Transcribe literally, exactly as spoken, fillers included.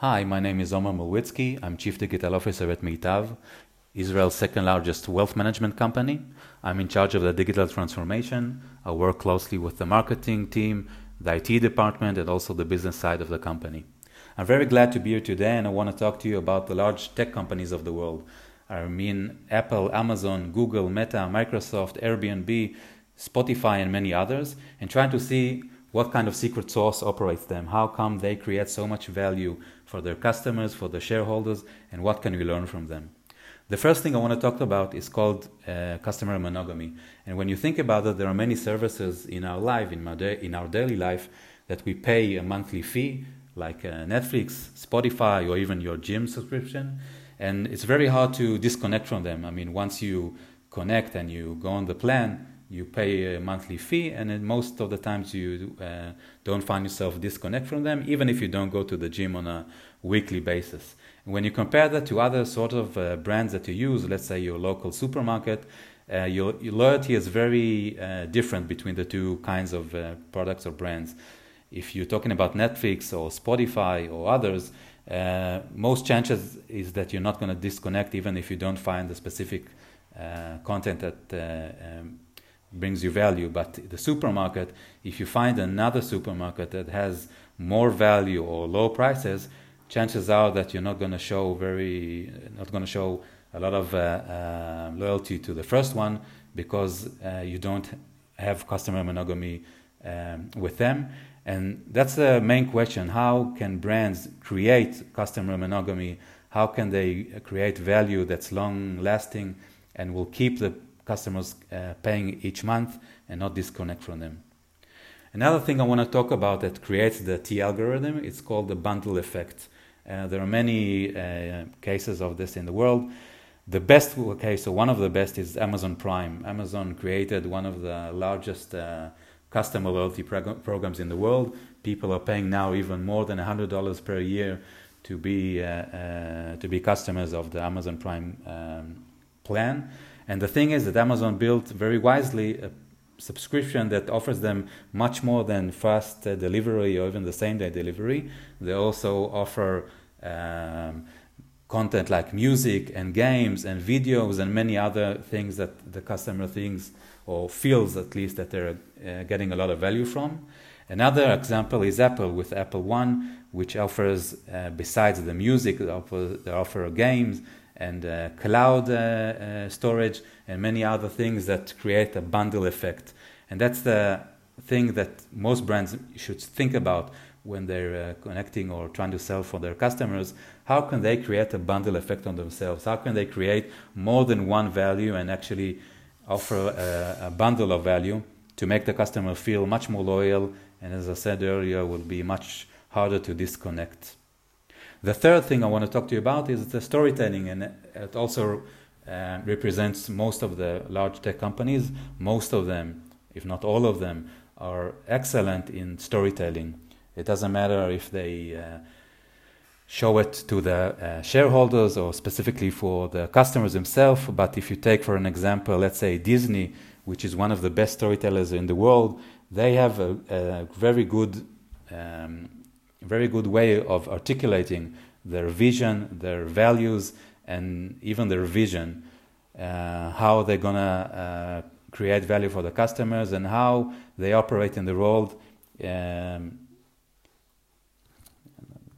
Hi, my name is Omer Mulwitsky. I'm Chief Digital Officer at Meitav, Israel's second largest wealth management company. I'm in charge of the digital transformation. I work closely with the marketing team, the I T department, and also the business side of the company. I'm very glad to be here today, and I want to talk to you about the large tech companies of the world. I mean Apple, Amazon, Google, Meta, Microsoft, Airbnb, Spotify, and many others, and trying to see what kind of secret sauce operates them, how come they create so much value for their customers, for their shareholders, and what can we learn from them. The first thing I want to talk about is called uh, customer monogamy. And when you think about it, there are many services in our life, in our, da- in our daily life, that we pay a monthly fee, like uh, Netflix, Spotify, or even your gym subscription. And it's very hard to disconnect from them. I mean, once you connect and you go on the plan, you pay a monthly fee, and then most of the times you uh, don't find yourself disconnect from them, even if you don't go to the gym on a weekly basis. And when you compare that to other sort of uh, brands that you use, let's say your local supermarket, uh, your, your loyalty is very uh, different between the two kinds of uh, products or brands. If you're talking about Netflix or Spotify or others, uh, most chances is that you're not going to disconnect even if you don't find the specific uh, content that uh, um, brings you value. But the supermarket, if you find another supermarket that has more value or low prices, chances are that you're not going to show very, not going to show a lot of uh, uh, loyalty to the first one because uh, you don't have customer monogamy um, with them. And that's the main question. How can brands create customer monogamy? How can they create value that's long lasting and will keep the customers uh, paying each month and not disconnect from them? Another thing I want to talk about that creates the T algorithm, it's called the bundle effect. Uh, there are many uh, cases of this in the world. The best case, or one of the best, is Amazon Prime. Amazon created one of the largest uh, customer loyalty prog- programs in the world. People are paying now even more than one hundred dollars per year to be, uh, uh, to be customers of the Amazon Prime um, plan. And the thing is that Amazon built very wisely a subscription that offers them much more than fast uh, delivery or even the same day delivery. They also offer um, content like music and games and videos and many other things that the customer thinks or feels at least that they're uh, getting a lot of value from. Another example is Apple with Apple One, which offers, uh, besides the music, they offer, they offer games and uh, cloud uh, uh, storage and many other things that create a bundle effect. And that's the thing that most brands should think about when they're uh, connecting or trying to sell for their customers. How can they create a bundle effect on themselves? How can they create more than one value and actually offer a, a bundle of value to make the customer feel much more loyal, and as I said earlier, will be much harder to disconnect. The third thing I want to talk to you about is the storytelling, and it also uh, represents most of the large tech companies. Most of them, if not all of them, are excellent in storytelling. It doesn't matter if they uh, show it to the uh, shareholders or specifically for the customers themselves, but if you take for an example, let's say Disney, which is one of the best storytellers in the world, they have a, a very good um, very good way of articulating their vision, their values, and even their vision, uh, how they're going to uh, create value for the customers and how they operate in the world um,